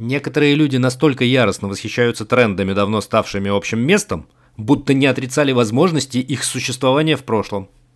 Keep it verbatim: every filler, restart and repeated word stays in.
Некоторые люди настолько яростно восхищаются трендами, давно ставшими общим местом, будто не отрицали возможности их существования в прошлом.